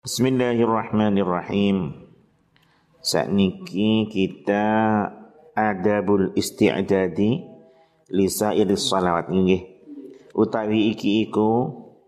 Bismillahirrahmanirrahim. Sakniki kita adabul isti'dadi li sairis shalawat nggih. Utawi iki iku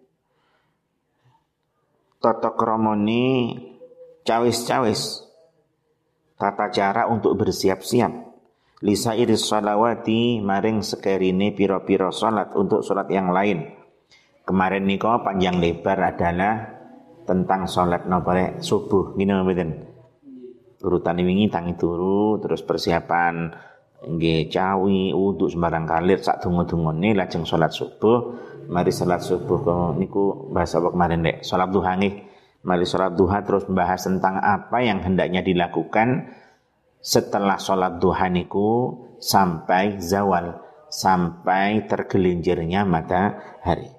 tata kramane cawis-cawis tata cara untuk bersiap-siap li sairis shalawati maring sekerine pira-pira salat untuk salat yang lain. Kemarin niko panjang lebar adalah tentang sholat nopare subuh gini mboten. Urutan wingi tangi turu terus persiapan nggih cawi wudu sembarang kalir sak donga-dongane lajeng sholat subuh. Mari sholat subuh niku bahasa apa kemarin Dek? Sholat duha nggih. Mari sholat duha terus membahas tentang apa yang hendaknya dilakukan setelah sholat duha niku sampai zawal, sampai tergelincirnya matahari.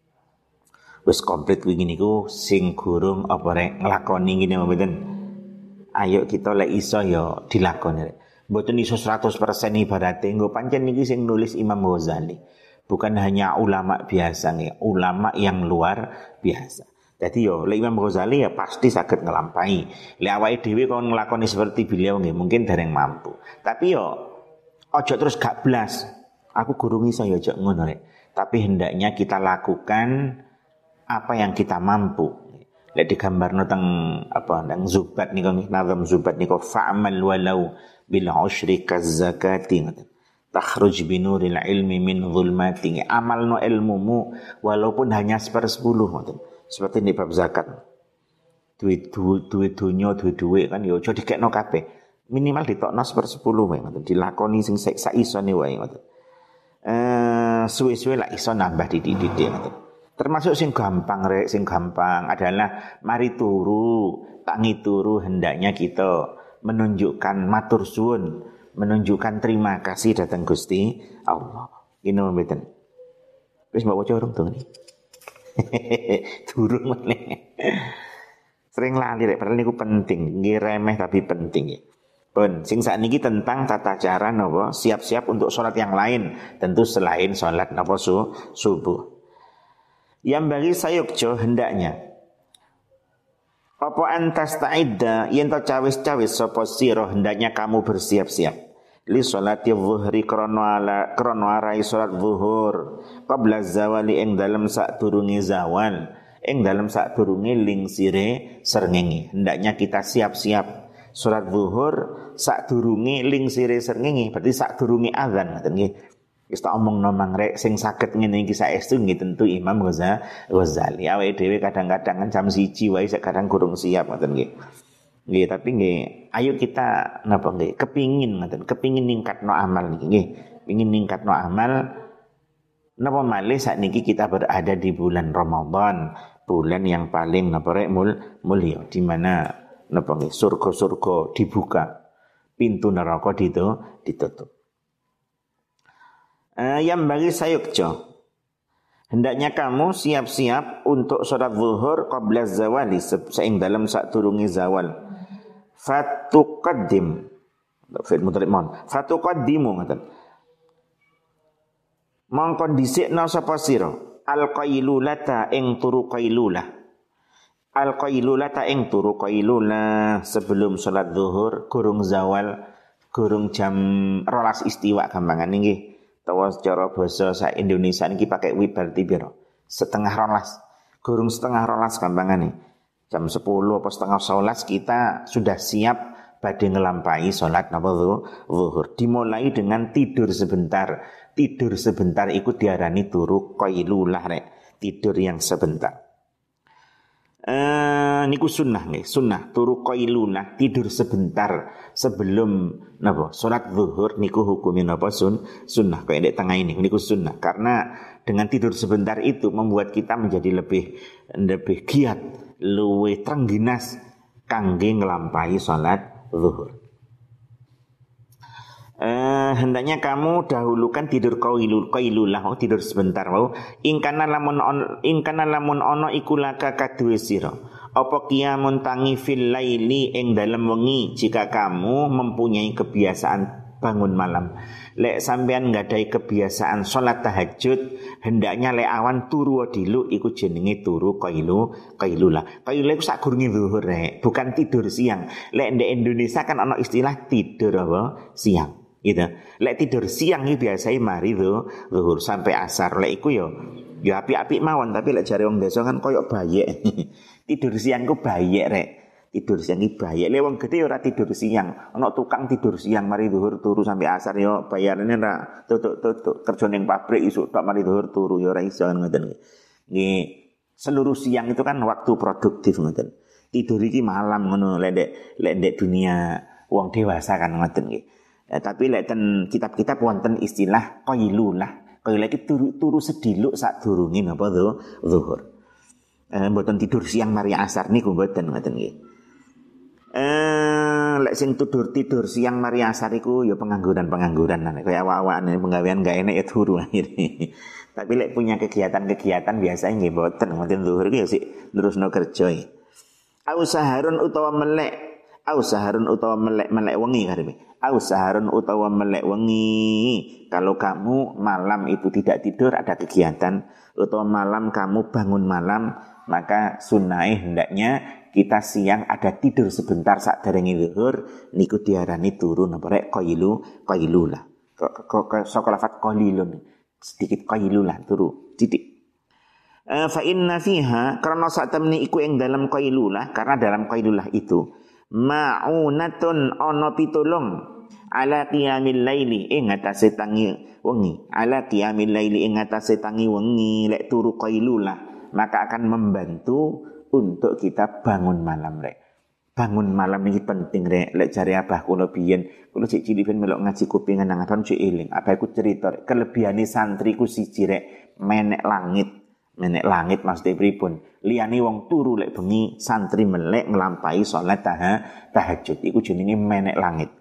Wis komplit wingi niku sing gurung apa rek nglakoni ngene mboten. Ayo kita lek iso ya dilakoni rek. Mboten iso 100% ibarate nggo pancen niki sing nulis Imam Ghazali. Bukan hanya ulama biasa nih, ulama yang luar biasa. Jadi yo lek Imam Ghazali ya pasti saged nglampahi. Lek awake dhewe kon nglakoni seperti beliau nggih mungkin dereng mampu. Tapi yo ojo terus gak blas. Aku gurung iso ya ojo ngono rek. Tapi hendaknya kita lakukan apa yang kita mampu. Lek digambarno teng apa nang Zubat niku nazam Zubat niku fa'mal walau bil usyri kazakati takhruj binuril ilmi min zulmati. Amalno ilmumu walaupun hanya 1/10 ngoten. Seperti di bab zakat. Duit dunya duit kan ya aja dikekno kabeh. Minimal ditokno 1/10 wae ngoten. Dilakoni sing sak isone wae ngoten. Suwe-suwe lak iso nambah didik-didik ngoten. Termasuk sing gampang rek, sing gampang adalah mari turu, tangi turu hendaknya kita menunjukkan matur suwun, menunjukkan terima kasih datang Gusti Allah. Ini mboten. Wis mbok waca urung dong. Durung meneh. Sering lali rek, padahal niku penting, nggih remeh tapi penting ya. Pun sing sakniki tentang tata cara napa siap-siap untuk salat yang lain, tentu selain salat napa subuh. Yang bagi sayukjo hendaknya apa antas ta'idda yen to cawis-cawis sapa sira hendaknya kamu bersiap-siap li sholati dhuhri krana arai salat zuhur qabla zawali ing dalem sadurunge zawal ing dalem sadurunge lingsire srengenge. Hendaknya kita siap-siap salat zuhur sadurunge lingsire srengenge, berarti sadurunge azan ngoten nggih. Wis tak omongno mangrek sing saged ngene iki saestu nggih tentu Imam Ghazali. Awake dhewe kadang-kadang kan jam 1 wae kadang kurang siap ngoten nggih. Nggih, tapi nggih ayo kita napa nggih kepingin ngoten, kepingin ningkatno amal niki nggih. Pengin ningkatno amal napa malih sakniki kita berada di bulan Ramadan, bulan yang paling napa rek mulya di mana napa nggih surga-surga dibuka, pintu neraka ditutup. Yang bagi sayukjo hendaknya kamu siap-siap untuk sholat zuhur qabla zawali seing dalam sadurunge zawal. Fatuqaddim fil mudhari' fatuqaddimu ngoten. Mongko dhisikna sapa sira al-qailulata ing turu qailulah. Al-qailulata ing turu qailulah sebelum sholat zuhur gurung zawal, gurung jam 12 istiwa gampangan nggih. Tawa secara bahasa sak Indonesia niki pakai wi berarti piro? 10:30. Gurung 10:30 gampangane. Jam 10 apa 10:30 kita sudah siap badhe ngelampahi salat napa zuhur. Dimulai dengan tidur sebentar. Tidur sebentar iku diarani turu qailulah rek. Tidur yang sebentar. Niku sunnah nih, sunnah turu qailulah tidur sebentar sebelum napa salat zuhur niku hukumnya napa sunnah kayak di tengah ini niku sunnah karena dengan tidur sebentar itu membuat kita menjadi lebih giat, luwih trengginas kangge nglampahi salat zuhur. Hendaknya kamu dahulukan tidur qailulah tidur sebentar mau ingkana lamun ono iku laka kaduwe sira apa qiyamun tangi fil laili ing dalem wengi jika kamu mempunyai kebiasaan bangun malam. Lek sampean nggadahi kebiasaan salat tahajud, hendaknya lek awan turu dilu iku jenenge turu qailulah. Qailulah iku sadurunge zuhur bukan tidur siang. Lek ndek Indonesia kan ana istilah tidur apa? Siang. Gitu. Lek tidur siang iki biasane mari zuhur sampai asar. Lek iku ya apik-apik mawon, tapi lek jare wong desa kan koyo bayek. Tidur siang ku bayek rek. Tidur siang iki bayek. Lek wong gedhe ora tidur siang. Ana tukang tidur siang mari zuhur turu sampai asar yo bayarane ra tutuk kerja ning pabrik isuk tok mari zuhur turu yo ora iso ngoten nggih. Seluruh siang itu kan waktu produktif ngoten. Tidur iki malam ngono lek ndek dunia wong dewasa kan ngoten nggih. Tapi lek ten kitab-kitab wonten istilah qailulah. Qailulah iki turu sediluk sadurunge napa zuhur. Mboten tidur siang mari asar niku mboten ngoten nggih. Lek sing tidur siang mari asar iku ya pengangguran kaya awak-awakane penggawean gak enek ya turu akhire. Tapi lek punya kegiatan biasanya nggih mboten ngoten zuhur iki ya sik terusno kerja. Au saharun utawa melek wengi karepe. Au saharun utawa melek wengi. Kalau kamu malam itu tidak tidur ada kegiatan, utawa malam kamu bangun malam, maka sunnah hendaknya kita siang ada tidur sebentar sak derenge zuhur niku diarani turu napa rek qailulah. Kok lafat qalilun sedikit qailulah turu titik. Fa inna fiha karena sak temni iku ing dalam qailulah, karena dalam qailulah itu ma'unatun ana pitulung ala qiyamil laili ing atase tangi wengi, ala qiyamil laili ing atase tangi wengi lek turu qailulah, maka akan membantu untuk kita bangun malam rek. Bangun malam ini penting rek. Lek jare abah kula biyen, kula sik cilik ben melok ngaji kupingan nang abang sik eling. Abah iku cerita kelebihane santri ku siji rek, menek langit. Menek langit maksudnya pripun? Liyane wong turu lek bengi santri melek nglampahi salat tahajud. Iku jenenge menek langit.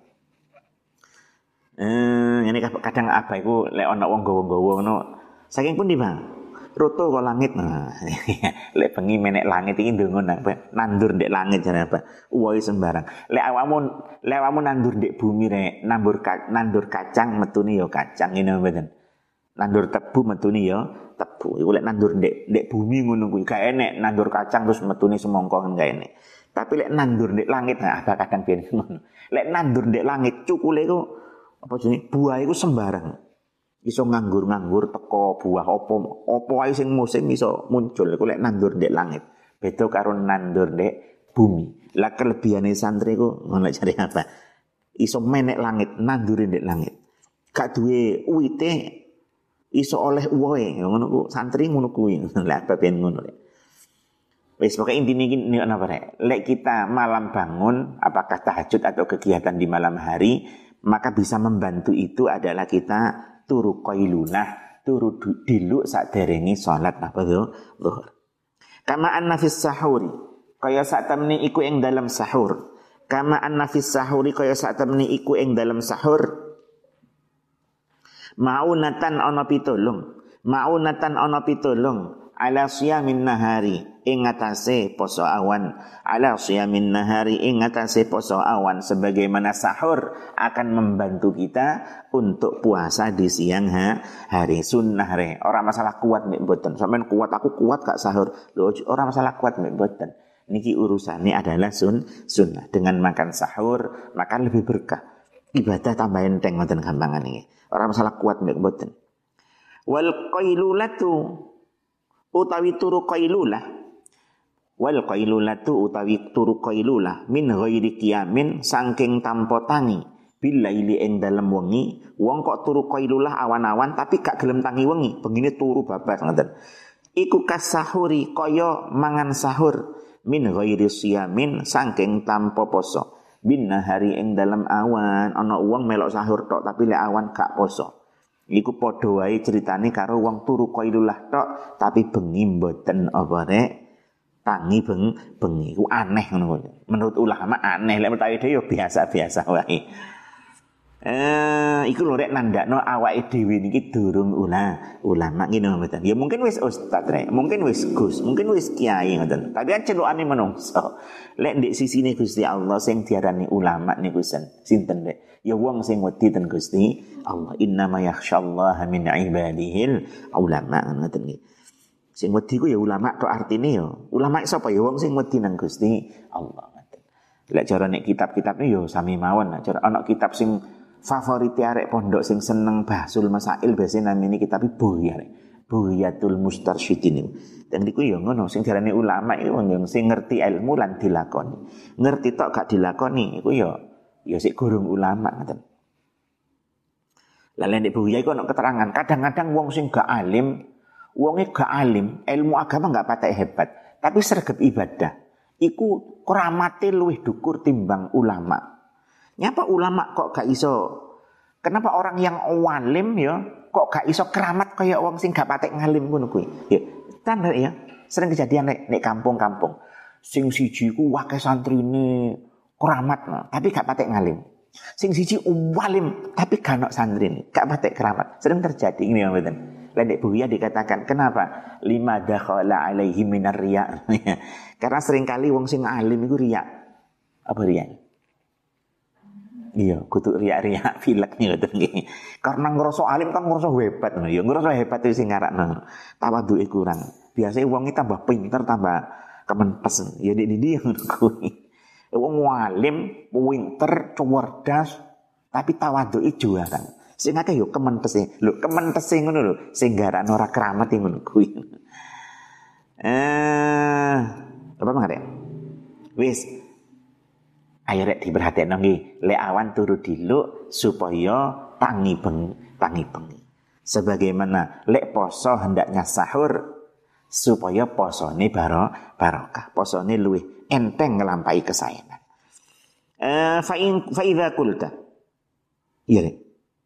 Ini kadang abah iku lek ana wong gawa-gawa ngono. Saking pundi, Bang? Roto kok langit. Nah, lek bengi menek langit iki ndonga nandur ndek langit jane apa? Uwohe sembarang. Lek awakmu nandur ndek bumi rek, nandur kacang metune ya kacang ngene mboten. Nandur tebu metune ya tebu. Iku lek nandur ndek bumi ngono kuwi gak enek nandur kacang terus metune semongko kan gak enek. Tapi lek nandur ndek langit nah apa kadang ben ngono. Lek nandur ndek langit cukule iku apa jenenge buah iku sembarang. Iso nganggur teko buah opo ae sing musim iso muncul iku lek nandur ndek langit. Beda karo nandur ndek bumi. Lah kelebihane santri ku ngono jare apa? Iso menek langit, nandur ndek langit. Gak duwe uwite iso oleh uwohe. Ngono ku santri ngono kuwi. Lah baben ngono rek. Wis pokoke intine iki napa rek? Lek kita malam bangun apakah tahajud atau kegiatan di malam hari, maka bisa membantu itu adalah kita turu qailulah, turu diluk saderenge salat apa zuhur. Kama anna fis sahuri, kaya sak temne iku ing dalam sahur. Kama anna fis sahuri kaya sak temne iku ing dalam sahur. Ma'unatan ana pitulung ala siyamin nahari ing atase poso awan, ala siyamin nahari ing atase poso awan, sebagaimana sahur akan membantu kita untuk puasa di siang hari. Sunnah re, orang masalah kuat mek mboten. Sampeyan kuat, aku kuat gak sahur. Lho orang masalah kuat mek mboten. Niki urusannya adalah sunnah. Dengan makan sahur maka lebih berkah. Ibadah tambah enteng ngoten gampangan iki. Orang masalah kuat mek mboten. Wal qailulatu utawi turu qailulah, wal qailulatu utawi turu qailulah min ghairi qiyamin saking tanpa tangi bilaili ing dalem wengi. Wong kok turu qailulah awan-awan tapi gak gelem tangi wengi, bengine turu babas ngoten. Iku kasahuri kaya mangan sahur min ghairi siyamin saking tanpa poso bin nahari ing dalem awan. Ana wong melok sahur tok tapi lek awan gak poso. Iku padha wae critane karo wong turu qailulah tok tapi bengi mboten apa rek tangi bengi iku aneh ngono. Menurut ulama aneh, lek mutawi dhewe ya biasa-biasa wae. Iku lho rek nandakno awake dhewe niki durung ulama ngene mboten. Ya mungkin wis ustaz rek, mungkin wis gus, mungkin wis kiai ngoten. Tapi kan celukane menungso. Lek ndek sisine Gusti Allah sing diarani ulama niku sinten rek? Ya wong sing wedi ten Gusti Allah. Innama yakhsyallaha min ibadihil ulama ngoten nggih. Sing wedi ku ya ulama tok artine ya. Ulama sapa ya wong sing wedi nang Gusti Allah ngoten. Lek cara nek kitab-kitabne ya sami mawon. Cara ana kitab sing favorit arek pondok sing seneng bahsul masail biasanya namine kitab Bughya. Bughyatul Mustarsyidin. Dan niku ya ngono sing diarani ulama iku wong sing ngerti ilmu lan dilakoni. Ngerti tok gak dilakoni iku ya sik gurung ulama ngoten. Lah nek Bughya iku ana keterangan, kadang-kadang wong sing gak alim, wonge gak alim, ilmu agama gak patek hebat, tapi sregep ibadah. Iku keramate luwih dhukur timbang ulama. Nyapa ulama kok gak iso? Kenapa orang yang walim ya kok gak iso keramat kaya wong sing gak patek ngalim ngono kuwi? Ya, tanda ya, sering kejadian nek kampung-kampung. Sing siji ku akeh santrine keramat, tapi gak patek ngalim. Sing siji walim tapi gak ono santrine, gak patek keramat. Sering terjadi ini ya mboten. Nek Bughya dikatakan, kenapa? Lima dakhala alaihi minar riya. Karena seringkali wong sing alim iku riya. Apa riya? Iya, kudu riak-riak filek ngoten nggih. Karena ngrasa alim kan ngrasa hebat ngono ya. Ngrasa hebat itu sing ngarakno. Tawadhuke kurang. Biasane wong iki tambah pinter, tambah kemenpes. Ya ndi ngono kuwi. Wong alim, pinter, cerdas, tapi tawadhuke juara. Sing akeh yo kemenpese. Lho, kemenpese ngono lho, sing garakno ora keramat ngono kuwi. Apa mangare? Wis ayo rek diperhatekno nggih, lek awan turu diluk supaya tangi bengi. Sebagaimana lek poso hendaknya sahur supaya posone barokah, posone luwih enteng nglampahi kesayangan. Fa idza qulta. Iya rek.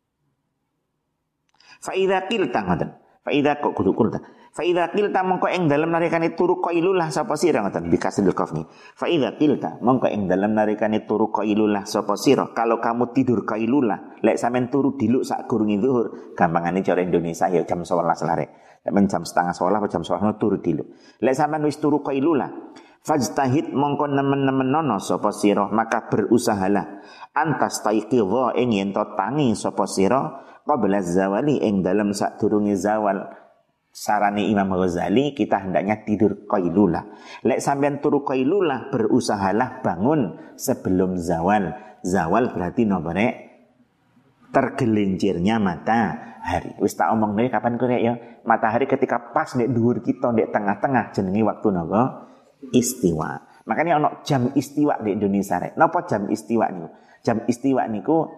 Fa idza qilta ngoten. Fa idza kok kudu qulta. Fa idza qilta mongko ing dalem narikane turu qailullah sapa sira ngoten bikasil qafni. Fa idza qilta mongko ing dalem narikane turu qailullah sapa sira. Kalau kamu tidur qailullah, lek sampean turu diluk sak gurunge zuhur, gampangane cara Indonesia ya jam 11 larek. Sampeyan jam setengah 11 atau jam 11 turu diluk. Lek sampean wis turu qailullah, fajtahid mongko nemen-nemen nono sapa sira, maka berusahalah antas taiqidha ing yen to tangi sapa sira qabla zawali ing dalem sadurunge zawal. Sarane Imam Ghazali kita hendaknya tidur qailulah. Lek sampean turu qailulah berusahalah bangun sebelum zawal. Zawal berarti napa rek? Tergelincirnya matahari. Wis tak omong nih kapan ku rek ya? Matahari ketika pas nek dhuwur kita nek tengah-tengah jenenge waktu napa? Istiwa. Makanya ono jam istiwa di Indonesia rek. Napa jam istiwa niku? Jam istiwa niku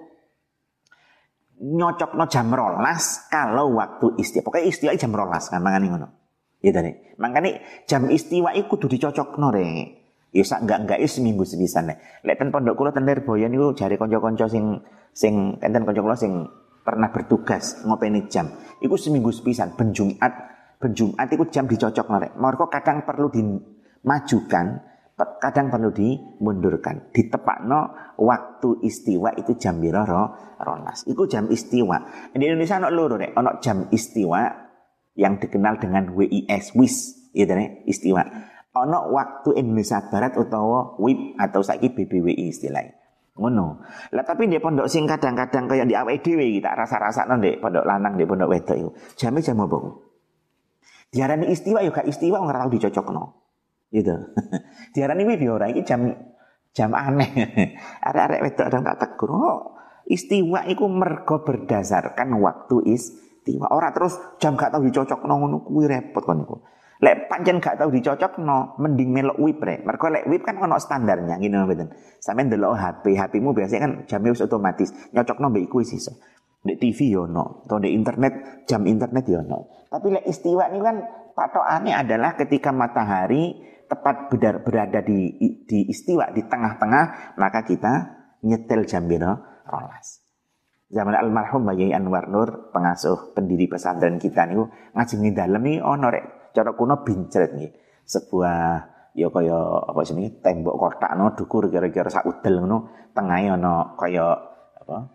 nyocokno jam 12 kalau waktu istiwa. Pokoknya istiwa jam 12 kan mangane ngono. Ya tadi. Makane jam istiwa iku kudu dicocokno rek. Ya sak enggak seminggu sepisan nek. Lek ten pondok kula ten Lirboyo niku jare kanca-kanca sing enten kanca kula sing pernah bertugas ngopeni jam. Iku seminggu sepisan ben Jumat iku jam dicocokno rek. Mergo kadang perlu dimajukan, kadang perlu dimundurkan. Ditepakno waktu istiwa itu jam pira rolas. Iku jam istiwa. Di Indonesia ana loro rek, ana jam istiwa yang dikenal dengan WIS, ya rek, istiwa. Ana waktu Indonesia Barat utawa WIB atau saiki BBWI istilahnya. Ngono. Lah tapi di pondok sing kadang-kadang kaya di awake dhewe iki tak rasa-rasakno ndek pondok lanang ndek pondok wedok iku. Jame jam apa ku? Diarani istiwa ya gak istiwa ora tau dicocokno. Gitu. Diarani WIB ya ora iki jam aneh. Arek-arek wedok kadang tak tegur. Oh, istiwa iku mergo berdasarkan waktu istiwa. Ora terus jam gak tau dicocokno ngono kuwi repot kon niku. Lek pancen gak tau dicocokno, mending melok WIB rek. Mergo lek WIB kan ono standarnya ngene mboten. Sampeyan delok HP-mu biasanya kan jamnya wis otomatis. Nyocokno mbek iku wis iso. Ndek TV yo ono, atau ndek internet, jam internet yo ono. Tapi lek istiwa ini kan patokane adalah ketika matahari tepat berada di istiwa di tengah-tengah, maka kita nyetel jam pira rolas. Zaman almarhum Bayi Anwar Nur, pengasuh pendiri pesantren kita niku ngajeng dalem iki ono rek cara kuno bincret nggih. Sebuah ya kaya apa jenenge tembok kotakno dukur kira-kira sak udel ngono, tengahe ana kaya apa?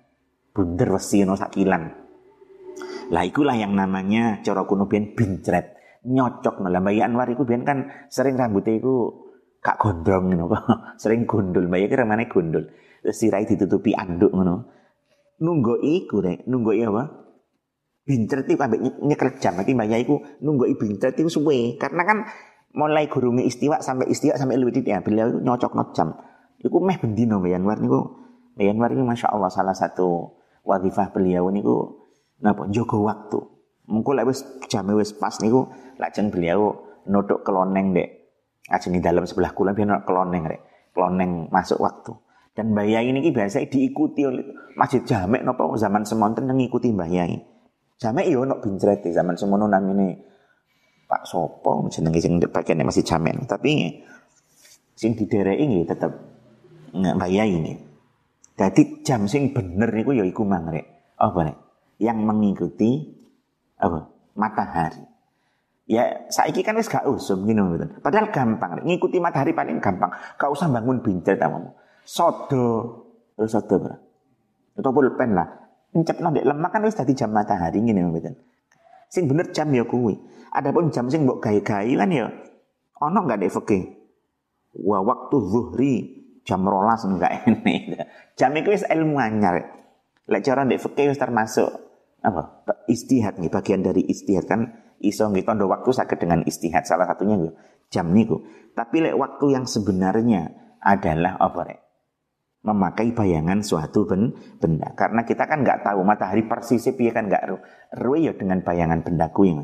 bunder wesi ono sakilan. Lah ikulah yang namanya cara kuno biyen bincret, nyocok lah Mbak Anwar iku biyen kan sering rambutnya iku gak gondrong ngono apa. Sering gondol, Mbak kira mana gondol. Terus sirai ditutupi anduk ngono. Nunggu iku rek, nunggu apa? Bincret iku ambek nyekel jam. Iki Mbak iku nunggu bincret iku suwe karena kan mulai gurunge istiwa sampai luwih titik ya. Beliau nyocokno jam. Iku meh bendino Mbak Anwar niku. Mbak Anwar niku masyaallah salah satu wadhifah beliau niku napa jaga waktu. Mengko lek wis jame wis pas niku lajeng beliau nutuk keloneng dek. Ajeng di dalam sebelah kula biyen keloneng rek. Keloneng masuk waktu. Dan Mbah Yai niki biasa diikuti oleh masjid jamek napa zaman semonten ngikuti Mbah Yai. Jamek yo ono bincret zaman semono namine Pak Sopo jenenge sing pakene masih jamek. Tapi sing didereki nggih tetep Mbah Yai niki. Dadi jam sing bener niku ya iku mang rek. Apa rek? Yang mengikuti apa? Matahari. Ya saiki kan wis gak usum ngono mboten. Padahal gampang, ngikuti matahari paling gampang. Gak usah bangun bincret amamu. Sodo bro. Atau pulpen lah. Encepno ndek lemak kan wis dadi jam matahari ngene mboten. Sing bener jam ya kuwi. Adapun jam sing mbok gawe-gawe kan ya ono gak ndek fikih. Wa waktu zuhri jam 12 enggak enek. Jam iku wis ilmu anyar. Lek cara ndek fikih wis termasuk apa? Istihad nih, bagian dari istihad kan iso nggih tondo waktu saged dengan istihad salah satunya yo jam niku. Tapi lek waktu yang sebenarnya adalah apa rek? Memakai bayangan suatu benda. Karena kita kan nggak tahu matahari persisnya piye kan nggak ruwe ya dengan bayangan bendaku yang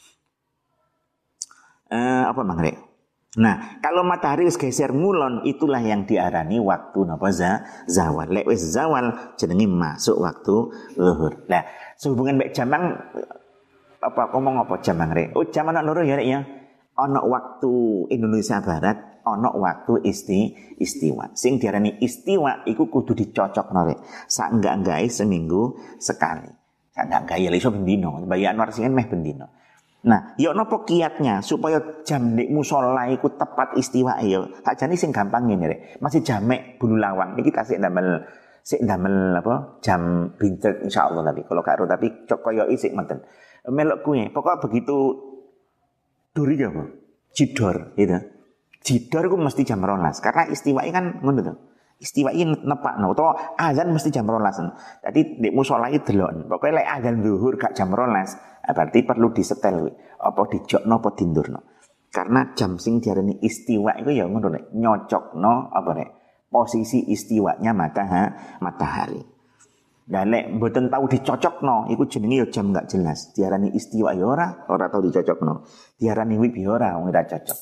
apa mang rek? Nah, kalau matahari wis geser ngulon itulah yang diarani waktu napa zawal. Lek wis zawal jenenge masuk waktu zuhur. Nah, sehubungan mek jamang apa ngomong apa jamang rek? Oh, jam ana loro ya rek ya. Ana waktu Indonesia Barat, ana waktu istiwa. Sing diarani istiwa iku kudu dicocokno rek. Sak enggak-enggae seminggu sekali. Sak enggak-enggae ya iso bendino. Mbak Anwar sing meh bendino. Nah, ya napa kiatnya supaya jam nek musala iku tepat istiwa ya. Sakjane sing gampang ngene rek. Masih jamek bulu lawang iki tasik ndamel apa jam bincet insyaallah tapi kalau karo tapi koyo isik menten. Melok kuwi pokok begitu duri ya apa? Jidor gitu. Jidor iku mesti jam 12 karena istiwa kan ngono to. Istiwa iki nepakno utawa azan mesti jam 12. Dadi nek musala iki delok. Pokoke lek azan zuhur gak jam 12, berarti perlu disetel kuwi. Apa dijokno apa dindurno. Karena jam sing diarani istiwa iku ya ngono nek nyocokno apa nek posisi istiwanya matahari. Dan lek mboten tahu dicocokno iku jenenge ya jam gak jelas. Diarani istiwa ya ora tahu dicocokno. Diarani wib ya ora wong ora cocok.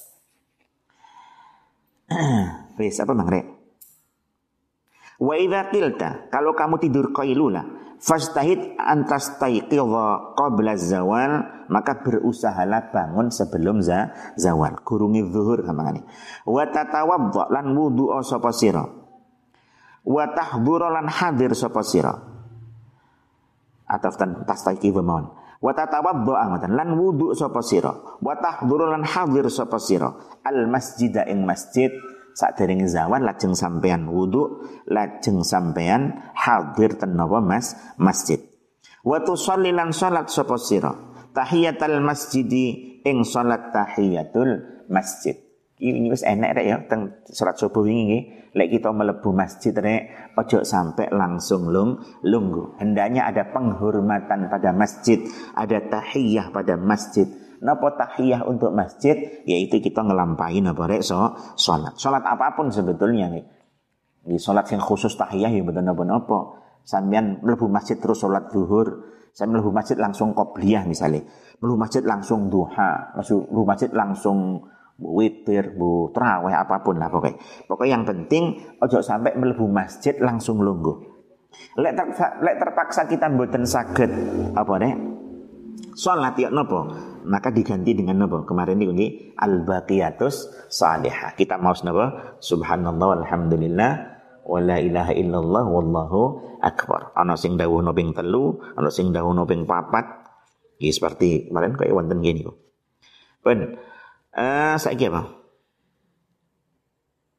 Wis apa Mang Rek? Wa idza qilta, kalau kamu tidur qailula, fastahid antastaiqidha qabla zawal, maka berusahalah bangun sebelum zawal, gurungi zuhur gampangane. Wa tatawadda lan wudu sapa sira. Wa tahdhura lan hadir sapa sira. Ataftan tastaiqidha mawon. Wa tatawadda amatan lan wudu sapa sira. Wa tahdhura lan hadir sapa sira. Al masjida ing masjid sakderenge zawal lajeng sampean wudu, lajeng sampean hadir ten napa masjid. Wa tusolli lan salat sapa sira tahiyatul masjidi ing salat tahiyatul masjid. Ini wis enek rek ya teng salat subuh wingi nggih. Lek kita mlebu masjid rek ojo sampai langsung lungguh. Hendaknya ada penghormatan pada masjid, ada tahiyah pada masjid. Napa tahiyah untuk masjid yaitu kita ngelampain apa rek salat apapun sebetulnya nih. Di salat yang khusus tahiyah ya mboten napa-napa. Sampeyan mlebu masjid terus salat zuhur, sampeyan mlebu masjid langsung qobliyah misalnya. Mlebu masjid langsung duha, mlebu masjid langsung witir, tarawih apapun lah pokoknya. Pokoknya yang penting ojo sampai mlebu masjid langsung lungguh. Lek terpaksa kita mboten saged apa rek? Salat ya napa? Maka diganti dengan napa? Kemarin ini al-baqiyatus salihah. Kita mau napa? Subhanallah walhamdulillah wa la ilaha illallah wallahu akbar. Ana sing dawuhna ping 3, ana sing dawuhna ping 4. Iki seperti kemarin kaya wonten ngene niku. Ben saiki apa?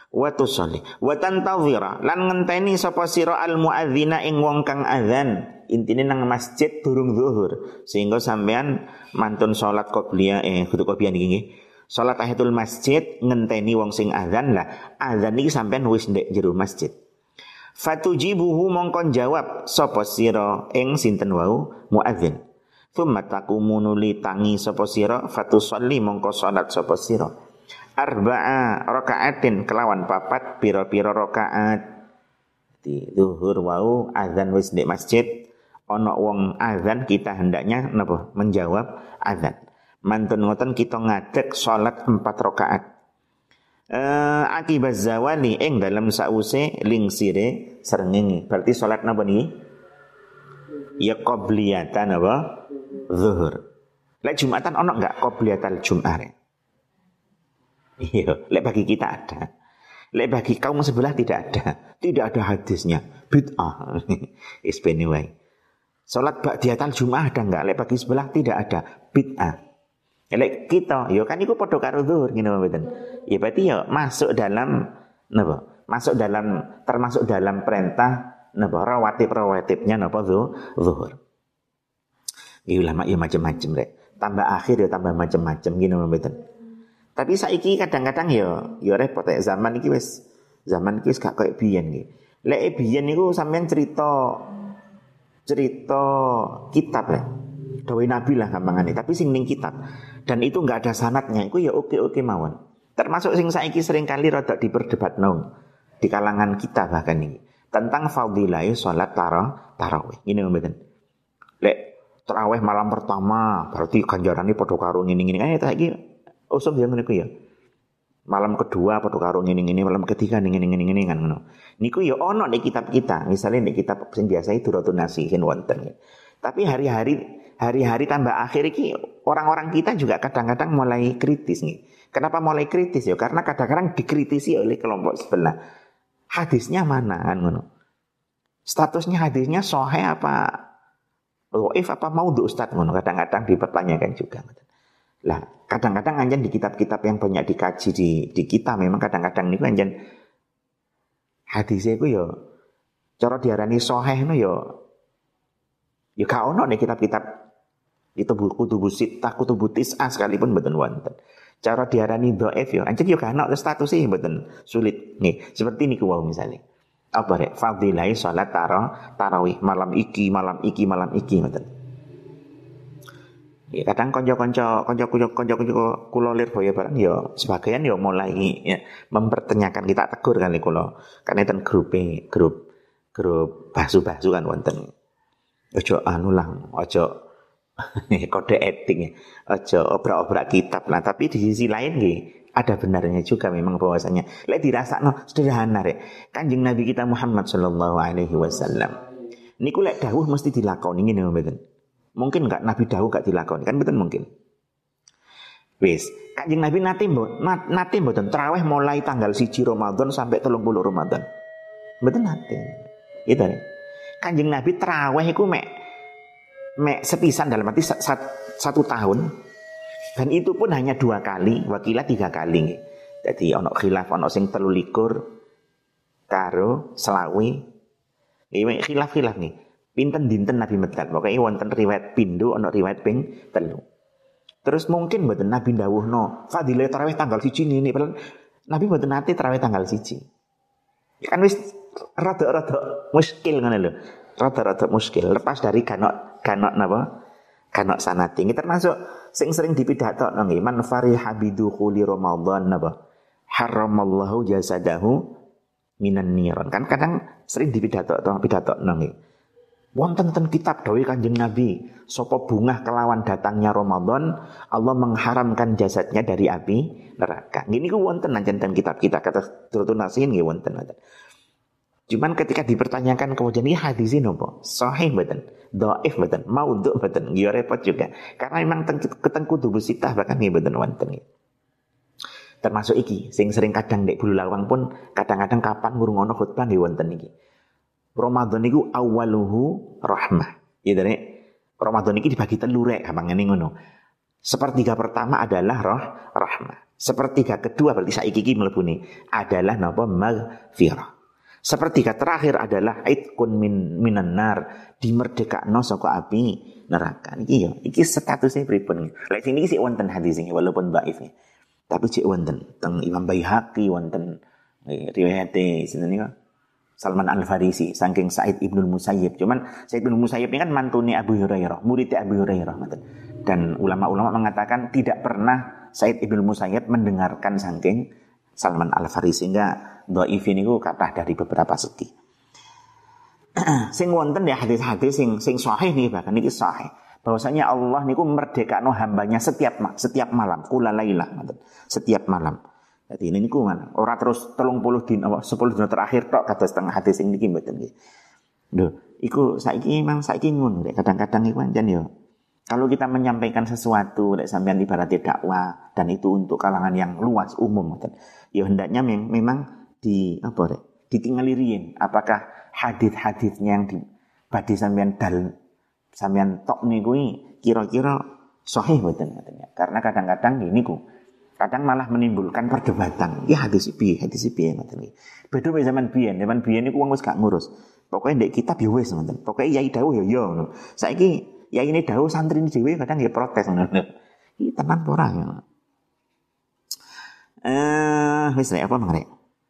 wa tusolli wa tantawira lan ngenteni sapa sira al muadzina ing wong kang azan intine nang masjid durung zuhur sehingga sampean mantun salat qobliyah kudu qobliyah niki nggih salat tahiyatul masjid ngenteni wong sing azan lah azan iki sampean wis ndek jero masjid fatujibuhu mongkon jawab sapa sira ing sinten wau muadzin thumma taqumu nuli tangi sapa sira fatusolli mongko salat sapa sira arba'a rakaatin kelawan papat pira-pira rakaat di zuhur wau azan wis di masjid ana wong azan kita hendaknya napa menjawab azan mantun ngoten kita ngadeg salat 4 rakaat akibat zawali ing dalam sause lingsire srengenge berarti salat napa niki ya qobliyatan apa zuhur lek jumatan ana enggak qobliyatal jum'ah iya, lek bagi kita ada. Lek bagi kaum sebelah tidak ada. Tidak ada hadisnya. Bid'ah. Isbeni wae. Salat ba'diyatal Jumat ada enggak? Lek bagi sebelah tidak ada. Bid'ah. Lek kita, ya kan iku padha karo zuhur ngene mboten. Ya berarti ya masuk dalam napa? Masuk dalam termasuk dalam perintah napa rawatib-rawatibnya napa zuhur. Ya ulama ya macam-macam rek. Tambah akhir ya tambah macam-macam ngene mboten. Tapi saiki kadang-kadang ya repot ya zaman iki wis gak koyo biyen iki. Lek biyen niku sampean cerita kitab ya. Dawuh Nabi lah gampangane, tapi sing ning kitab. Dan itu enggak ada sanadnya, iku ya oke-oke mawon. Termasuk sing saiki sering kali rada diperdebatno di kalangan kita bahkan ini tentang fadilah salat tarawih. Ngene mboten. Lek tarawih malam pertama berarti ganjarane padha karo ngene-ngene. Saiki usum ya ngene ku ya. Malam kedua padha karo ngene-ngene, malam ketiga ngene-ngene kan ngono. Niku ya ana ning kitab kita, misalnya ning kitab sing biasa Duratun Nasihin wonten. Tapi hari-hari tambah akhir iki orang-orang kita juga kadang-kadang mulai kritis nih. Kenapa mulai kritis ya? Karena kadang-kadang dikritisi oleh kelompok sebelah. Hadisnya mana kan ngono. Statusnya hadisnya sahih apa dhaif apa maudhu Ustaz ngono kadang-kadang dipertanyakan juga. Lah, kadang-kadang anjen di kitab-kitab yang banyak dikaji di kita memang kadang-kadang niku anjen hadise iku ya cara diarani sahih no ya gak ono nek kitab-kitab itu kutubu sittah kutubu tis'ah sekalipun mboten wonten. Cara diarani dhaif ya anjen ya gak ono status iki mboten sulit. Nih, seperti niku wae misale. Apa rek fadilah salat tarawih malam iki ngoten. Ya kadang kanca-kanca kula Lirboyo barang ya sebagian ya mulai ya mempertanyakan kita tegur kali kula. Kan enten grup bahsu-bahsu kan wonten. Aja anu lah, aja kode etik, aja obrak-obrak kitab lah. Tapi di sisi lain nggih ada benarnya juga memang bahwasanya lek dirasakno sederhana rek. Kanjeng Nabi kita Muhammad sallallahu alaihi wasallam. Niku lek dawuh mesti dilakoni ngene mboten. Mungkin enggak Nabi dawuh gak dilakoni kan betul mungkin. Wis, Kanjeng Nabi nate mboten tarawih mulai tanggal 1 Ramadan sampai 30 Ramadan. Mboten nate. Itu nih. Kanjeng Nabi tarawih iku mek sepisan dalam arti 1 tahun. Dan itu pun hanya 2 kali, wakilah 3 kali. Jadi ono khilaf ono sing 23 karo selawi. Iki khilaf nih. Pinten dinten Nabi medal, pokoknya wonten riwayat pindho ana riwayat ping 3. Terus mungkin mboten Nabi dawuhno, fadilah tarawih tanggal 1 ini, padahal Nabi mboten nate tarawih tanggal 1. Ya kan wis rada-rada muskil ngono lho. Rada-rada muskil lepas dari kanok napa? Kanok sanate. Iki termasuk sing sering dipidatokno nggih, man fariha bidukhuli Ramadan napa? Haramallahu jasadahu minan niran. Kan kadang sering dipidatokno nggih. Wonten kitab dawuh Kanjeng Nabi, sapa bungah kelawan datangnya Ramadan, Allah mengharamkan jasadnya dari api neraka. Gini ku wonten anjen kitab kita kata Duratun Nasihin nggih wonten. Cuman ketika dipertanyakan kemudian ini hadis ini napa? Sahih mboten? Dhaif mboten? Maudhu mboten? Ya repot juga. Karena memang keteng kutubu sittah bahkan nggih mboten wonten. Termasuk iki sing sering kadang nek Bulu Lawang pun kadang-kadang kapan ngrungokno khutbah nggih wonten iki. Ramadan niku awaluhu rahmah. Ya dari Ramadan iki dibagi 3 rek gampangane ngono. Sepertiga pertama adalah rahmah. Sepertiga kedua berarti saiki iki mlebune adalah napa maghfirah. Sepertiga terakhir adalah itqun minan nar, dimerdekakno saka api neraka. Iki ya, iki statusnya pripun. Lek sing iki sik wonten hadis iki walaupun dhaif. Tapi cek wonten teng Imam Baihaqi wonten riwayate sinten niku Salman Al-Farisi saking Sa'id Ibnul Musayyib. Cuman Sa'id Ibnul Musayyib ini kan mantune Abu Hurairah, muridnya Abu Hurairah. Dan ulama-ulama mengatakan tidak pernah Sa'id Ibnul Musayyib mendengarkan saking Salman Al-Farisi, sehingga dhaif niku kathah dari beberapa segi. Sing wonten ya hadis-hadis sing sahih nih, bahkan iki sahih. Bahwasanya Allah niku merdekakno hambanya setiap malam, kula lailah, setiap malam. Jadi ini niku mana? Ora terus 30 dina, 10 dina terakhir tok kados tengah hadis sing niki mboten nggih. Lho, iku saiki ngono rek, kadang-kadang iku pancen yo. Kalau kita menyampaikan sesuatu rek sampean ibaratnya dakwah dan itu untuk kalangan yang luas umum ngoten. Ya hendaknya memang ditinggali riyen apakah hadis-hadisnya yang badhe sampean tok niku kira-kira sahih mboten ngoten ya. Karena kadang-kadang niku kadang malah menimbulkan perdebatan. Ya hadis piye ngoten iki. Beda wae zaman biyen niku wong wis gak ngurus. Pokoke ndek kitab ya wis ngoten. Pokoke yai dawuh ya ngono. Saiki yai ini dawuh santri dhewe kadang ya protes ngono. Iki tenan ora ya. Wis apa mang rek?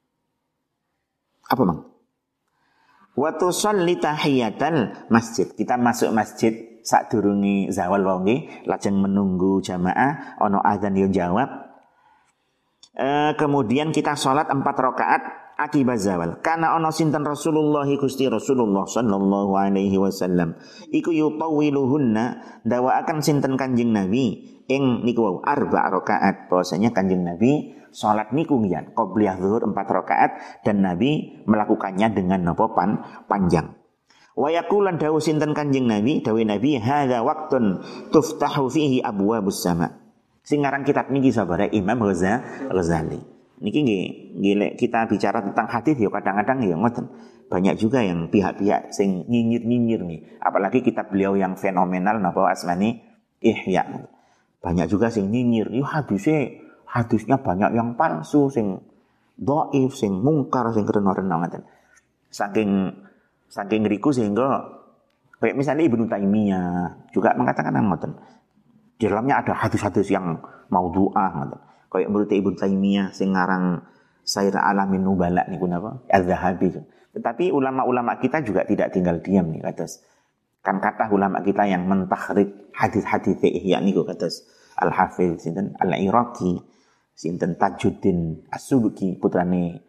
Apa mang? Wa tusalli tahiyatal masjid. Kita masuk masjid sadurunge zawal wae nggih, lajeng menunggu jamaah ana azan yo jawab. Kemudian kita sholat 4 rakaat akibat zawal. Karena ono sinten Rasulullah Gusti Rasulullah sallallahu alaihi wasallam iku yutawiluhunna dawaaken sinten Kanjeng Nabi ing niku wau 4 rakaat. Bahwasanya Kanjeng Nabi sholat niku ngiyan qobliyah zuhur 4 rakaat dan Nabi melakukannya dengan napa panjang. Wa yaqulan dawuh sinten Kanjeng Nabi, dawuh Nabi hadza waqtun tuftahu fihi abwabus sama'. Sing ngaran kitab niki sabare Imam Ghazali. Niki nggih kita bicara tentang hadis ya kadang-kadang ya ngoten. Banyak juga yang pihak-pihak sing nyinyir-nyinyir nih. Apalagi kitab beliau yang fenomenal napa asmani Ihya. Banyak juga sing nyinyir. Yo hadisnya banyak yang palsu, sing dhaif, sing mungkar, sing rena-rena ngoten. Saking ngriku sehingga kayak misalnya Ibnu Taimiyah juga mengatakan ngoten. Di dalamnya ada hadis-hadis yang maudhu'ah ngoten. Kayak menurut Ibnu Taimiyah sing ngarang Syair Alamin Nubala niku napa? Az-Zahabi. Tetapi ulama-ulama kita juga tidak tinggal diam nih kados. Kan kathah ulama kita yang mentakhrij hadis-hadis Ihya niku kados Al-Hafiz sinten Al-Iraqi, sinten Tajuddin As-Subki putrane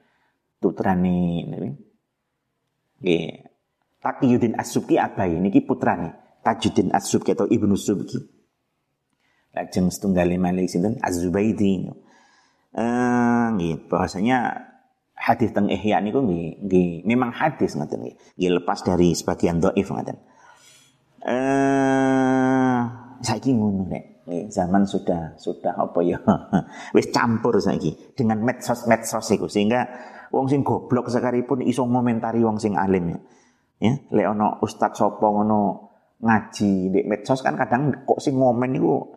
nggih Taqiyuddin As-Subki abai niki putrane Tajuddin As-Subki atau Ibnu Subki. Lajeng setunggal malih sinten Az-Zubaidi. Nggih, bahasanya hadis teng Ihya niku nggih memang hadis ngoten nggih. Nggih lepas dari sebagian dhaif ngoten. Saiki ngono nek. Zaman sudah apa ya? Wis campur saiki dengan medsos iku sehingga wong sing goblok sekalipun iso ngomentari wong sing alim ya. Ya, lek ana ustaz sapa ngono ngaji ndek medsos kan kadang kok sing ngomen niku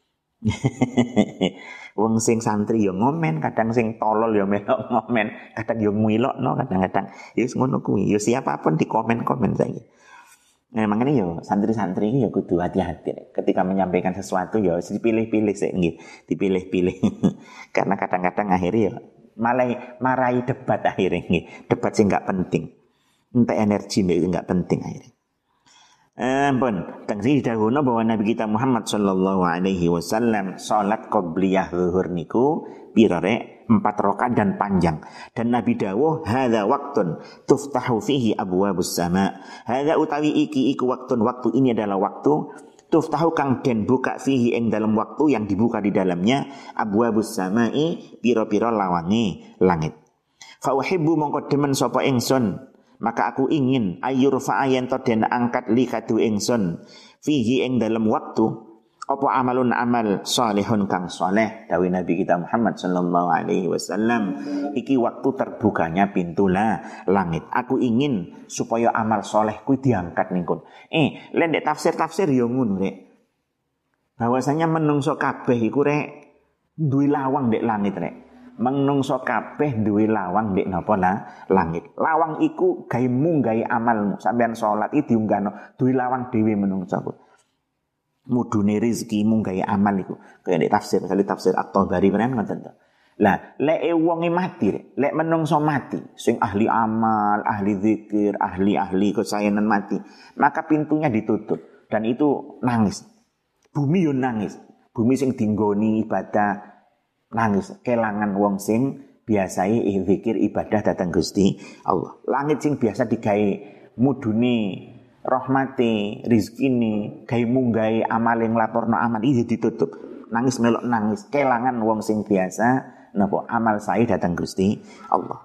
wong sing santri yo ngomen, kadang sing tolol yo melok ngomen, kadang yo ngilokno, kadang-kadang ya ngono kuwi. Yo siapapun di komen-komen saiki. Nah, makanya yo santri-santri yo kudu hati-hati ketika menyampaikan sesuatu yo dipilih-pilih sik nggih, dipilih-pilih. Karena kadang-kadang akhirnya yo malah marai debat akhirnya nggih. Debat sing enggak penting. Entek energi enggak penting akhirnya. Ampun, tengsi dahulu bahwa Nabi kita Muhammad sallallahu alaihi wasallam salat qobliyah zuhur niku pirare 4 rakaat dan panjang. Dan Nabi dawuh hadza waqtun tuftahu fihi abwabus sama. Hadza utawi iki waktu ini adalah waktu tuftahu kang den buka fihi ing dalam waktu yang dibuka di dalamnya abwabus samai pira-pira lawange langit. Fa uhibbu mongko demen sapa ingsun maka aku ingin ayurfa ayen to den angkat li kadu ingsun fihi ing dalam waktu apa amalun amal salihun kang saleh dawuh Nabi kita Muhammad sallallahu alaihi wasallam iki waktu terbukanya pintu langit. Aku ingin supaya amal saleh kuwi diangkat ningkun. Lek ndek tafsir yo ngono rek. Bahwasanya menungso kabeh iku rek duwe lawang ndek langit rek. Menungso kabeh duwe lawang ndek napa langit. Lawang iku gawe munggahi amalmu. Sampeyan salat iki diunggahno duwe lawang dhewe menungso. Mudune rezeki munggahi amal iku. Kaya ndek tafsir, misalnya tafsir At-Tabari kan ngoten to. Lah, lek wonge mati, lek menungso mati, sing ahli amal, ahli zikir, ahli kesayangan mati, maka pintunya ditutup dan itu nangis. Bumi yo nangis. Bumi sing dinggoni ibadah nangis, kelangan wong sing biasai zikir ibadah datang Gusti Allah. Langit sing biasa digawe mudune rahmati, rizkine, gawe munggahe amal yang laporno amal iki ditutup. Nangis melok nangis, kelangan wong sing biasa napa amal saya datang Gusti Allah.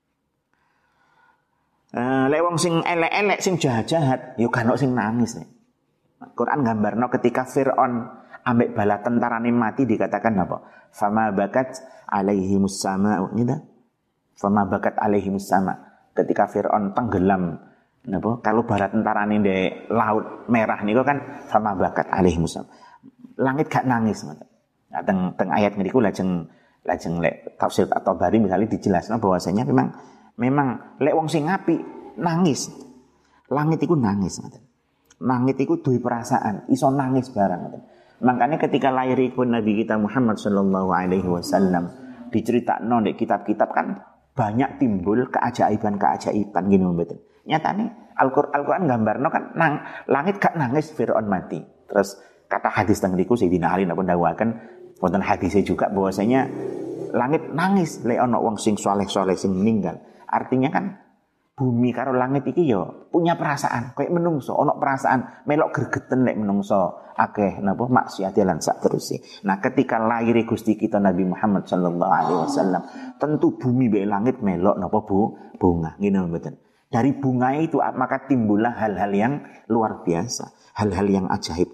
Lek wong sing elek-elek sing jahat-jahat yo kan sing nangis nek. Quran gambarno ketika Firaun ambek bala tentarane mati dikatakan apa? Fama bakat alaihimus sama gitu. Fama bakat alaihimus sama. Ketika Firaun tenggelam napa? Kalau bala tentarane ndek laut merah niku kan fama bakat alaihimus sama. Langit gak nangis ngoten. Nah, teng ayat niku lajeng lek tafsir atau bari misalnya dijelaskan bahwasanya memang lek wong sing apik nangis. Langit iku nangis ngoten. Langit iku duwe perasaan, iso nangis barang ngoten. Makanya ketika lahiripun Nabi kita Muhammad sallallahu alaihi wasallam diceritakno di kitab-kitab kan banyak timbul keajaiban-keajaiban gini mboten. Nyatane Al-Qur'an gambarno kan langit gak nangis Firaun mati. Terus kata hadis teng niku Sayyidina Ali napa ndawaken wonten hadisnya juga bahwasanya langit nangis lek ana wong sing saleh-saleh sing meninggal. Artinya kan bumi karo langit iki yo punya perasaan, kayak menungso ana perasaan melok gregeten lek menungso akeh napa maksiat lan sak terusé. Nah, ketika lahir Gusti kita Nabi Muhammad sallallahu alaihi wasallam, tentu bumi be langit melok napa bunga, ngene mboten. Dari bunga itu maka timbullah hal-hal yang luar biasa, hal-hal yang ajaib.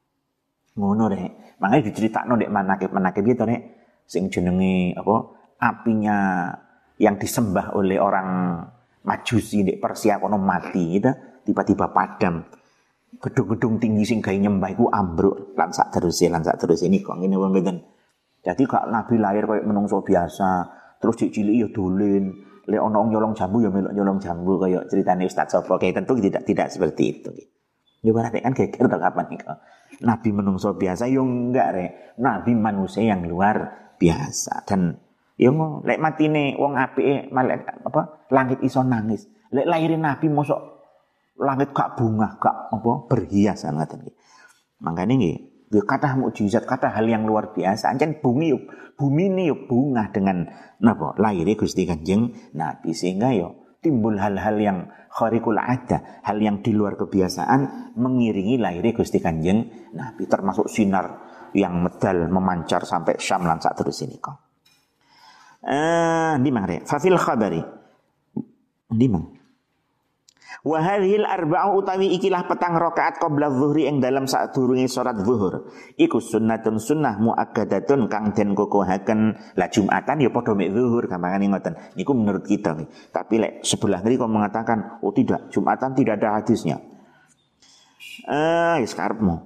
Ngono rek. Makanya diceritakno ndek manakib itu nek sing jenenge apa apinya yang disembah oleh orang Majusi ndek Persia kono mati gitu, tiba-tiba padam. Gedung-gedung tinggi sing gawe nyembah iku ambruk lan sak terusé niku ngene wae mboten. Jadi gak Nabi lahir koyo menungso biasa, terus cilik ya dolen, lek ana wong nyolong jambu ya melok nyolong jambu kaya ceritane Ustaz Sopo kayak tentu tidak seperti itu. Ya berarti kan geger to kapan niku. Nabi menungso biasa yo enggak rek. Nabi manusia yang luar biasa dan yo lek matine wong apike malaikat apa langit iso nangis. Lek lahirin Nabi mosok langit gak bunga, gak apa berhias ngoten iki. Mangkane nggih, yo kathah mukjizat, kathah hal yang luar biasa. Ancen bumi ini yo bunga dengan napa lahire Gusti Kanjeng Nabi sehingga yo timbul hal-hal yang khariqul ada, hal yang di luar kebiasaan mengiringi lahirnya Gusti Kanjeng Nabi, termasuk sinar yang medal memancar sampai Syam lan sak terus ini kok. Di mana? Fafil khabari. Di mana? Wa hadhil arba'u utawi ikilah petang rakaat qabla zuhri ing dalam sadurunge salat zuhur. Iku sunnatun sunnah muakkadatun kang den kokohaken. Lah Jumatan ya padha mek zuhur gampangane ngoten. Niku menurut kita nih. Tapi lek sebelah ngriko mengatakan, "Oh tidak, Jumatan tidak ada hadisnya." Wis karepmu.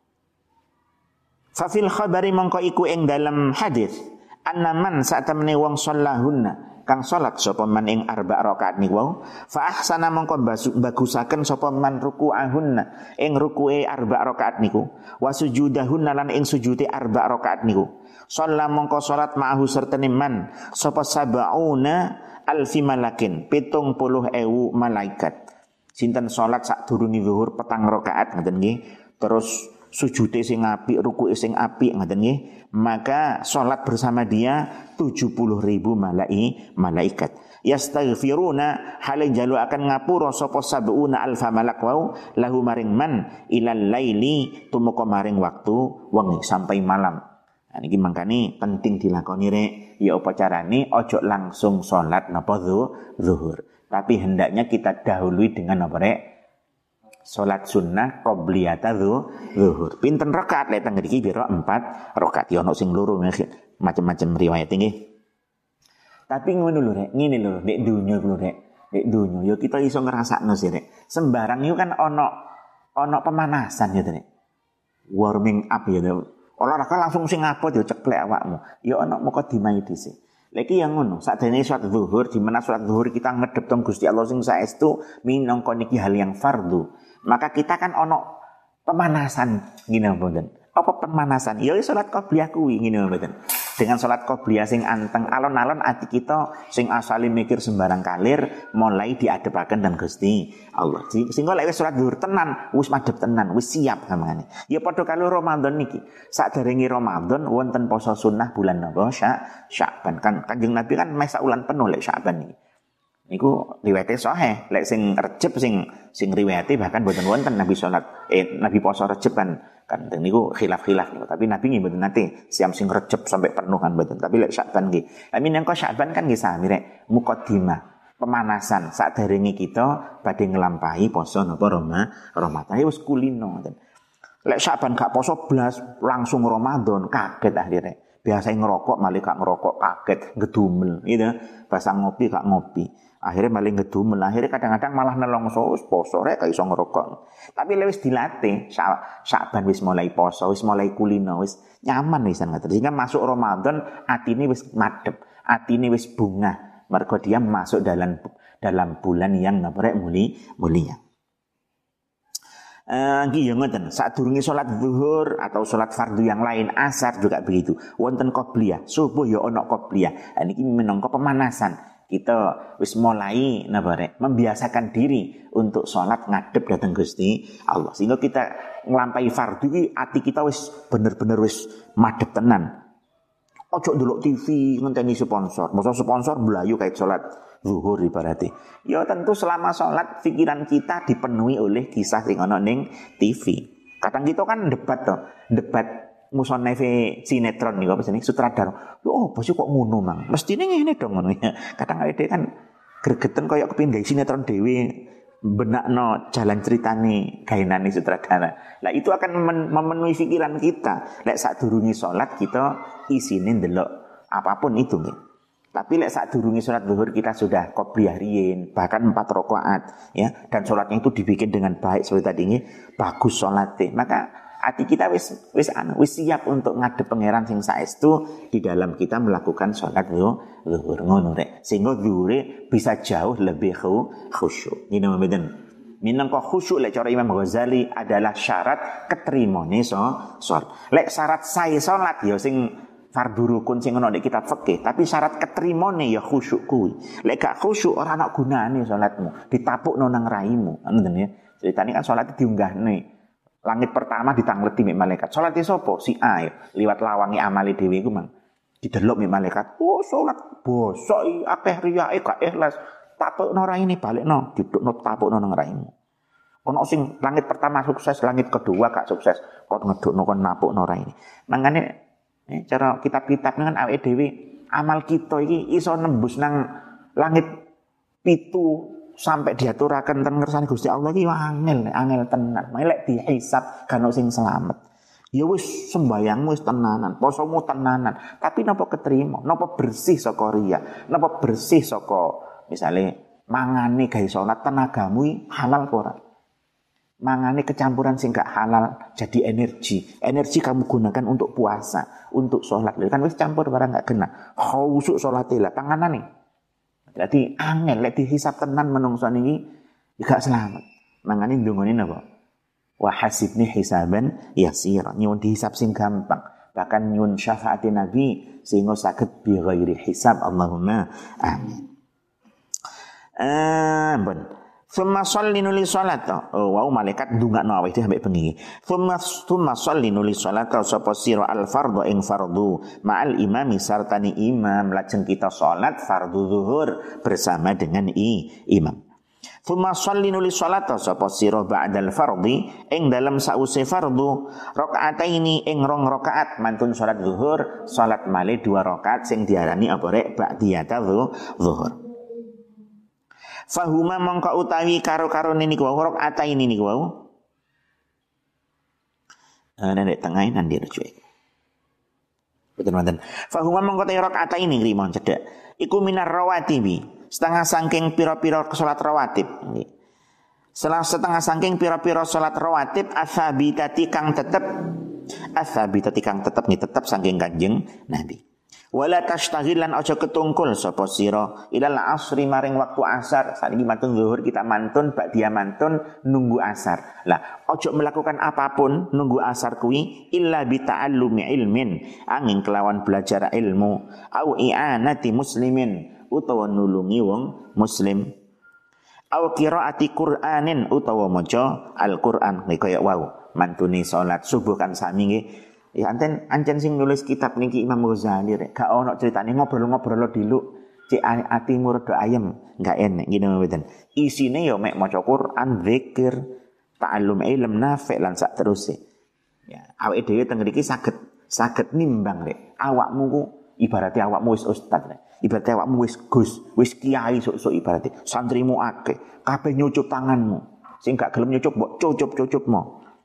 Fa fil khabari mongko iku ing dalam hadis, annaman satamne wong shallahunna kang salat sapa man ing arba rakaat niku fa ahsana mongko bagusaken sapa man ruku'ahunna ing ruku'e arba rakaat niku wa sujudahunna lan ing sujude arba rakaat niku shalla mongko salat ma'ahu sertene man sapa sabauna alfi malakin 70.000 malaikat sinten salat sadurunge zuhur petang rakaat ngoten nggih terus sujude sing apik ruku'e sing apik ngoten nggih maka salat bersama dia 70.000 malaikat yastaghfiruna hale jalu akan ngapura sapa sabuna alfa malak wau lahu maring man ilal laili tumeka maring waktu wengi sampai malam. Nah niki mangkane penting dilakoni rek ya apa carane ojo langsung salat napa zuhur tapi hendaknya kita dahului dengan apa rek salat sunnah qobliyata zuhur. Pinten rakaat lek teng mriki pira 4 rakaat ya ono sing loro macam-macam riwayat nggih. Tapi ngono lho rek, ngene lho nek donya lho rek. Nek donya ya kita iso ngrasakno sih rek. Sembarang iku kan ono pemanasan ya rek. Warming up ya. Olahraga langsung sing ngapot yo ceklek awakmu. Ya ana mukadimah dhisik. Lagi yang ngono, sakjane salat zuhur di mana salat zuhur kita ngedep teng Gusti Allah sing saestu minangka niki hal yang fardu. Maka kita kan ono pemanasan ngene mboten. Apa pemanasan? Ya salat qobliyah kuwi ngene mboten. Dengan salat qobliyah sing anteng alon-alon ati kita sing asale mikir sembarang kalir mulai diadepaken dan Gusti Allah. Sehingga lek wis salat zuhur tenan, wis madhep tenan, wis siap sampeyan. Ya padha karo Ramadan niki. Saderenge Ramadan wonten poso sunnah bulan napa? Sya'ban. Kan Kanjeng Nabi kan meh saulan penuh lek Sya'ban niki. Niku riwayate sahih. Lek sing Rejeb sing riwayate bahkan boten wonten Nabi Nabi poso Rejeb kan niku khilaf-khilaf niku. Tapi Nabi nggih mboten nate siam sing Rejeb sampai penuh kan mboten. Tapi lek Sya'ban nggih. Amin yang Sya'ban kan nggih sami rek mukadimah, pemanasan saderenge kita badhe nglampahi poso napa Ramadan. Wis kulino ngoten. Lek Sya'ban gak poso blas langsung Ramadan kaget akhirnya. Biasa ngerokok malah gak ngerokok kaget ngedumel gitu. Bahasa ngopi gak ngopi. Akhirnya malah ngedumel. Akhirnya kadang-kadang malah nelongso poso rek gak iso ngerokok. Tapi wis dilatih Sya'ban wis mulai poso, wis mulai kulino, wis nyaman wisan ngoten. Sehingga masuk Ramadan atine wis madhep, atine wis bungah. Mergo dia masuk dalam bulan yang napa mulia. Nggih ya ngoten, sadurunge salat zuhur atau salat fardu yang lain, asar juga begitu. Wonten qobliyah, subuh ya ana qobliyah. Niki minangka pemanasan. Kita wis mulai napa rek membiasakan diri untuk salat ngadep dateng Gusti Allah. Sehingga kita nglampahi fardu iki ati kita wis bener-bener wis madhep tenan. Ojo ndelok TV ngenteni sponsor. Masa sponsor mlayu kait salat zuhur ibaratnya. Ya tentu selama sholat pikiran kita dipenuhi oleh kisah sing ana ning TV. Kadang kita kan debat musoneve sinetron niku apa jenenge sutradara. Oh, bos kok ngono, Mang. Mestine ngene dong ngono ya. Kadang awake dhewe kan gregeten kaya kepengin gawe sinetron dhewe benakno jalan ceritane gaenane sutradara. Lah itu akan memenuhi pikiran kita. Lek sadurunge sholat kita isine ndelok apapun itu nggih. Tapi lek sadurunge salat zuhur kita sudah qobliyah riyin, bahkan 4 rakaat ya, dan salatnya itu dibikin dengan baik seperti tadi ini, bagus salate. Maka hati kita wis siap untuk ngadep pangeran sing saestu di dalam kita melakukan salat zuhur ngono rek. Sehingga zuhure bisa jauh lebih khusyuk. Ngene mboten. Minangka khusyuk lek cara Imam Ghazali adalah syarat keterimane salat. Lek syarat sae salat ya sing fardu rukun sing ana nek kitab fikih, tapi syarat keterimane ya khusyuk kuwi. Lek gak khusyuk ora ana gunane salatmu, ditapukno nang raimu. Ngoten ya. Ceritane kan salat diunggahne. Langit pertama ditangleti mek malaikat. Salate sapa? Si A ya. Liwat lawangi amale dhewe iku mang. Didelok mek malaikat. Oh, salat bosok akeh riyae gak ikhlas. Tapukno raine balekno, didukno tapukno nang raimu. Ono sing langit pertama sukses, langit kedua gak sukses. Kok ngedukno kon napukno raine. Mangane cara kitab-kitab kan awake dhewe amal kita iki iso nembus nang langit 7 sampai diaturaken ten ngersane Gusti Allah iki angel tenan. Lek dihisab kan sing selamat. Ya wis sembayangmu wis tenanan, posomu tenanan, tapi napa keterima? Napa bersih saka riya? Napa bersih saka misale mangane gawe salat tenagamu halal apa ora? Mangane kecampuran sing gak halal jadi energi kamu gunakan untuk puasa, untuk sholat. Kan wis campur barang gak kena khusyuk sholate lah panganane. Jadi angel lek dihisab tenan menungso niki gak selamat. Mangane ndongone napa? Wa hasibni hisaban yasira. Nyuwun dihisab sing gampang. Bahkan nyuwun syafaati Nabi sehingga saged bi ghairi hisab. Allahumma amin. Bon. Thumma sholli nuli sholata. Oh, wow, malaikat ndongakno awake dhewe sampe bengi. Thumma sholli nuli sholata sapa sira al fardhu ing fardhu ma'al imami sartani imam. Lajeng kita salat fardhu zuhur bersama dengan imam. Thumma sholli nuli sholata sapa sira ba'dal fardhi ing dalam sause fardhu rakaataini ing 2 rakaat mantun salat zuhur salat malih 2 rakaat sing diarani apa rek ba'diyata zuhur. Fahuma mongko utawi karo-karo niku wau rakaat ini niku wau. Nek tengahe nanti rujuk. Betul-betul. Fahuma mongko te rakaat ini ngrimon cedhak. Iku minar rawatibi, setengah saking pira-pira salat rawatib. Setengah saking pira-pira salat rawatib asabitati kang tetep Ats-tsabita kang tetep saking Kanjeng Nabi. Wala tashtaghilan aja ketungkul sapa sira ilal asri maring waktu asar. Saniki mantun zuhur kita mantun ba'diyah mantun nunggu asar. Lah aja melakukan apapun nunggu asar kuwi illa bi ta'allumi ilmin angin kelawan belajar ilmu au i'anati muslimin utawa nulungi wong muslim au qiraati Qur'anin utawa maca Al-Qur'an kaya wau mantune salat subuh kan sami nggih. Ya ancen sing nulis kitab niki Imam Ghazali rek gak ono critane ngobrol-ngobrol diluk cek atimu rada ayem gak enek ngene mboten isine ya mek maca Quran zikir ta'allum ilm nafi' lan sak teruse ya awake dhewe teng mriki saged nimbang rek awakmu ku ibarate awakmu wis ustaz rek ibarate awakmu wis gus wis kiai sok-sok ibarate santrimu akeh kabeh nyucup tanganmu sing gak gelem nyucup mbok cucup-cucupmu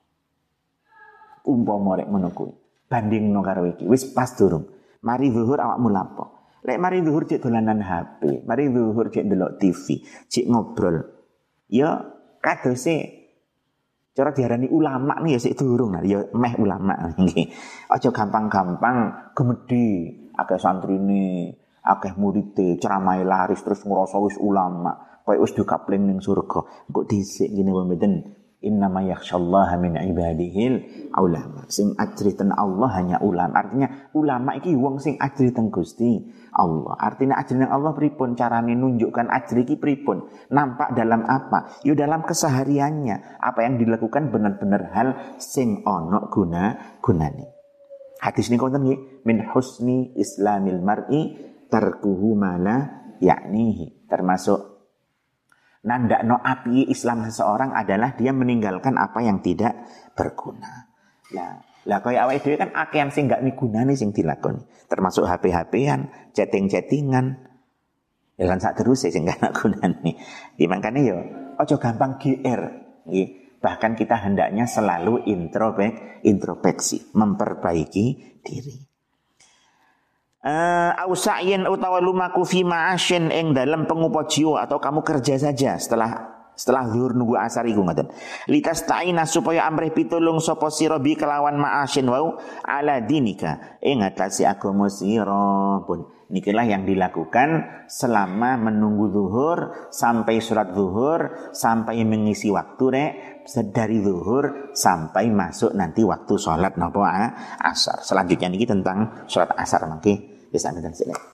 umpama rek ngono kuwi bandingno karo iki wis pas durung mari zuhur awakmu lapo lek mari zuhur cek dolanan HP mari zuhur cek ndelok TV cek ngobrol ya kadose cara diarani ulama nih ya sik durung nah ya meh ulama nggih aja gampang-gampang gemedi akeh santrine akeh murite ceramahe laris terus ngrasa wis ulama koyo wis dikapling ning surga kok dhisik ngene mboten innama yakhsyallaha min ibadihil ulama sing ajriten Allah hanya ulama artinya ulama iki wong sing ajriten Gusti Allah artinya ajriten Allah pripun carane nunjukkan ajri iki pripun nampak dalam apa yo dalam kesehariannya apa yang dilakukan benar-benar hal sing ana gunane hadis niku wonten nggih min husni islamil mar'i tarkuhu mala yaknihi termasuk nandakno api Islam seseorang adalah dia meninggalkan apa yang tidak berguna. Lah kaya awake dhewe kan akeh sing gak migunani sing dilakoni. Termasuk HP-HPan, chatting-chattingan. Ya kan sak terus sing gak gunane. Di makane yo aja gampang GR nggih. Bahkan kita hendaknya selalu introspeksi, memperbaiki diri. Ausa'yin utawa lumaku fi ma'asyin ing dalam pengupo jiwa atau kamu kerja saja setelah zuhur nunggu asar iku ngoten litasta'ina supaya amrih pitulung sapa sira bi kelawan ma'asyin wau ala dinika ing atase agama sira pun nikilah yang dilakukan selama menunggu zuhur sampai surat zuhur sampai mengisi waktu rek dari zuhur sampai masuk nanti waktu salat napa asar selanjutnya niki tentang salat asar mangke bisa ngeten sik.